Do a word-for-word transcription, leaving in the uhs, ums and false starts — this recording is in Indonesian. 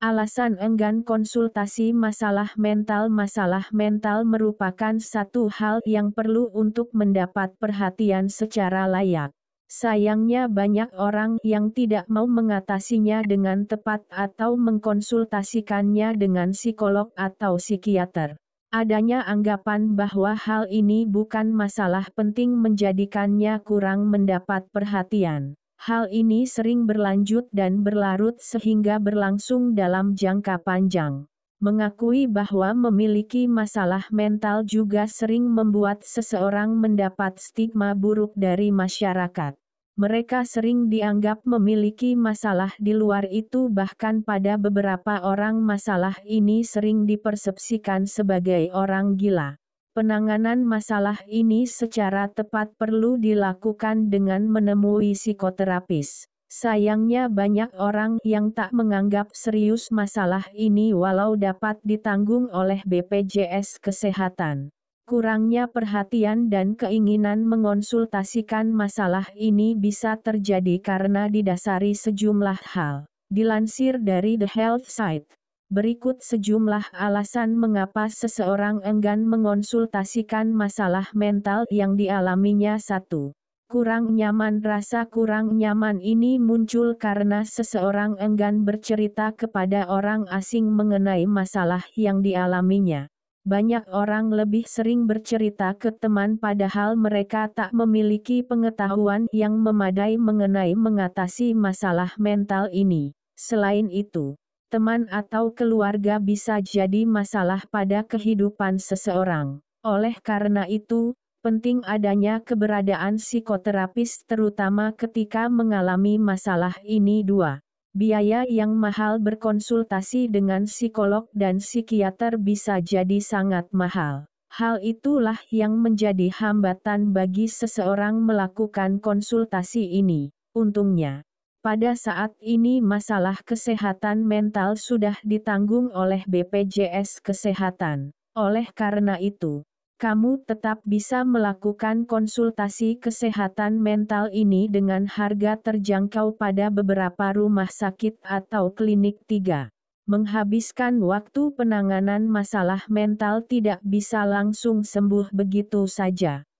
Alasan enggan konsultasi masalah mental. Masalah mental merupakan satu hal yang perlu untuk mendapat perhatian secara layak. Sayangnya banyak orang yang tidak mau mengatasinya dengan tepat atau mengkonsultasikannya dengan psikolog atau psikiater. Adanya anggapan bahwa hal ini bukan masalah penting menjadikannya kurang mendapat perhatian. Hal ini sering berlanjut dan berlarut sehingga berlangsung dalam jangka panjang. Mengakui bahwa memiliki masalah mental juga sering membuat seseorang mendapat stigma buruk dari masyarakat. Mereka sering dianggap memiliki masalah di luar itu, bahkan pada beberapa orang masalah ini sering dipersepsikan sebagai orang gila. Penanganan masalah ini secara tepat perlu dilakukan dengan menemui psikoterapis. Sayangnya banyak orang yang tak menganggap serius masalah ini walau dapat ditanggung oleh B P J S Kesehatan. Kurangnya perhatian dan keinginan mengonsultasikan masalah ini bisa terjadi karena didasari sejumlah hal. Dilansir dari The Health Site, berikut sejumlah alasan mengapa seseorang enggan mengonsultasikan masalah mental yang dialaminya. satu. Kurang nyaman. Rasa kurang nyaman ini muncul karena seseorang enggan bercerita kepada orang asing mengenai masalah yang dialaminya. Banyak orang lebih sering bercerita ke teman padahal mereka tak memiliki pengetahuan yang memadai mengenai mengatasi masalah mental ini. Selain itu, teman atau keluarga bisa jadi masalah pada kehidupan seseorang. Oleh karena itu, penting adanya keberadaan psikoterapis terutama ketika mengalami masalah ini. Dua. Biaya yang mahal. Berkonsultasi dengan psikolog dan psikiater bisa jadi sangat mahal. Hal itulah yang menjadi hambatan bagi seseorang melakukan konsultasi ini. Untungnya, pada saat ini masalah kesehatan mental sudah ditanggung oleh B P J S Kesehatan. Oleh karena itu, kamu tetap bisa melakukan konsultasi kesehatan mental ini dengan harga terjangkau pada beberapa rumah sakit atau klinik. Tiga. Menghabiskan waktu. Penanganan masalah mental tidak bisa langsung sembuh begitu saja.